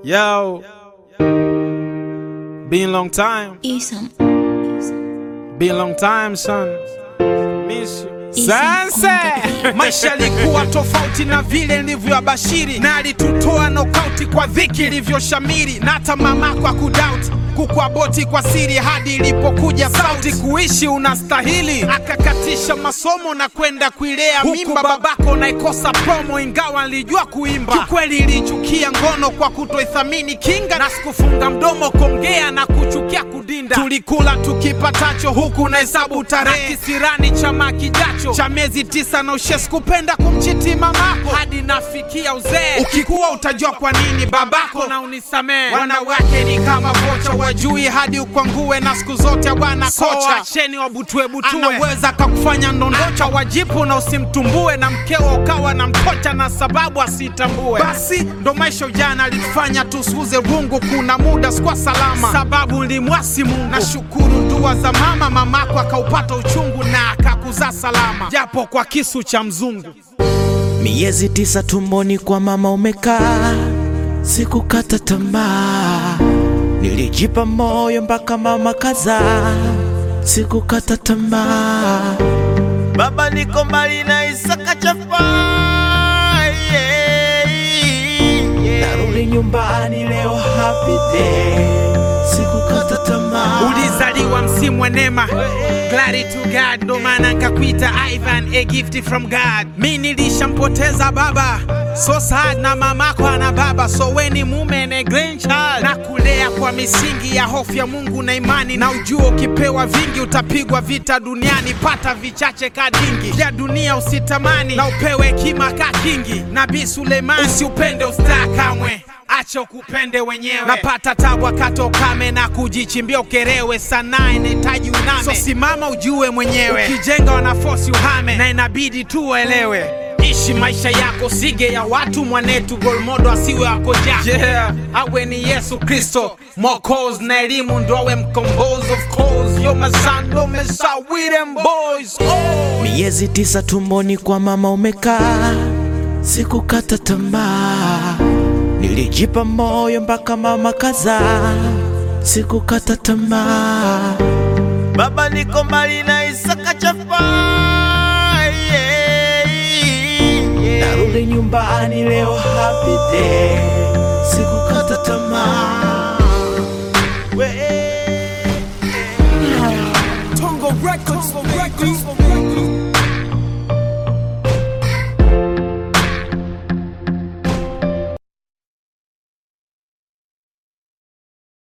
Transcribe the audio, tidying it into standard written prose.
Yo, been a long time. Been a long time, son. Miss you. Sasa maisha yalikuwa tofauti na vile nilivyoabashiri, na alitutoa nokauti kwa dhiki ilivyoshamiri, na hata mamako akudoubt kukuaboti kwa siri hadi ilipokuja sauti kuishi unastahili, akakatisha masomo na kwenda kuilea mimba. Babako naikosa promo ingawa nilijua kuimba. Kikweli ilichukia ngono kwa kutoithamini kinga, na sikufunga mdomo kongea na kuchukia kudinda. Tulikula tukipatacho huku na hesabu tarehe, kisirani chama kijacho cha miezi 9 na ushes kupenda kumchiti mamako hadi nafikia uzee. Ukikuwa utajua kwa nini babako na unisamee. Wanawake ni kama vocha wajui hadi ukwangue, na siku zote bwana kocha acheni wabutue butue. Anaweza kakufanya ndondocha wajipu na usimtumbue, na mkeo ukawa na mkocha na sababu asitambue. Basi ndo maisha ujana alitufanya tusuze rungu. Kuna muda sikuwa salama sababu nilimwasi Mungu. Na shukuru dua za mama, mamako akaupata uchungu na akakuzaa salama japo kwa kisu cha mzungu. Miezi 9 tumboni kwa mama umekaa, sikukata tamaa, nilijipa moyo mpaka mama kazaa, sikukata tamaa. Baba niko mbali na Isaka chafa, narudi nyumbani leo happy day, sikukata tamaa. Ulizaliwa msimu wa neema, glory to God, ndo maana nikakuita Ivan, a gift from God. Mimi nilishampoteza baba, so sad, na mamako ana baba, so weni mume na grandchild, na kulea kwa misingi ya hofu ya Mungu na imani, na ujua ukipewa vingi utapigwa vita duniani. Pata vichache kadingi ya dunia usitamani, na upewe hekima ka kingi. Nabii Suleiman, usiupende ustaa kamwe, acha ukupende wenyewe. Napata tabu akatokame na kujichimbia ukerewe, sanaa inahitaji uname, so simama ujue mwenyewe. Ukijenga wanafosi uhame, na inabidi tu uelewe. Ishi maisha yako, sige ya watu mwanetu, golmodo asiwe wako jako. Awe ni Yesu Kristo Mwokozi, na elimu ndo awe mkombozi. Of course yo mazando mesa with them boys. Miezi 9 tumboni kwa mama umekaa, sikukata tamaa, nilijipa moyo mpaka mama kazaa, sikukata tamaa. Baba niko mbali na Isaka chafa, narudi nyumbani leo happy day, sikukata tamaa. Tongo Records.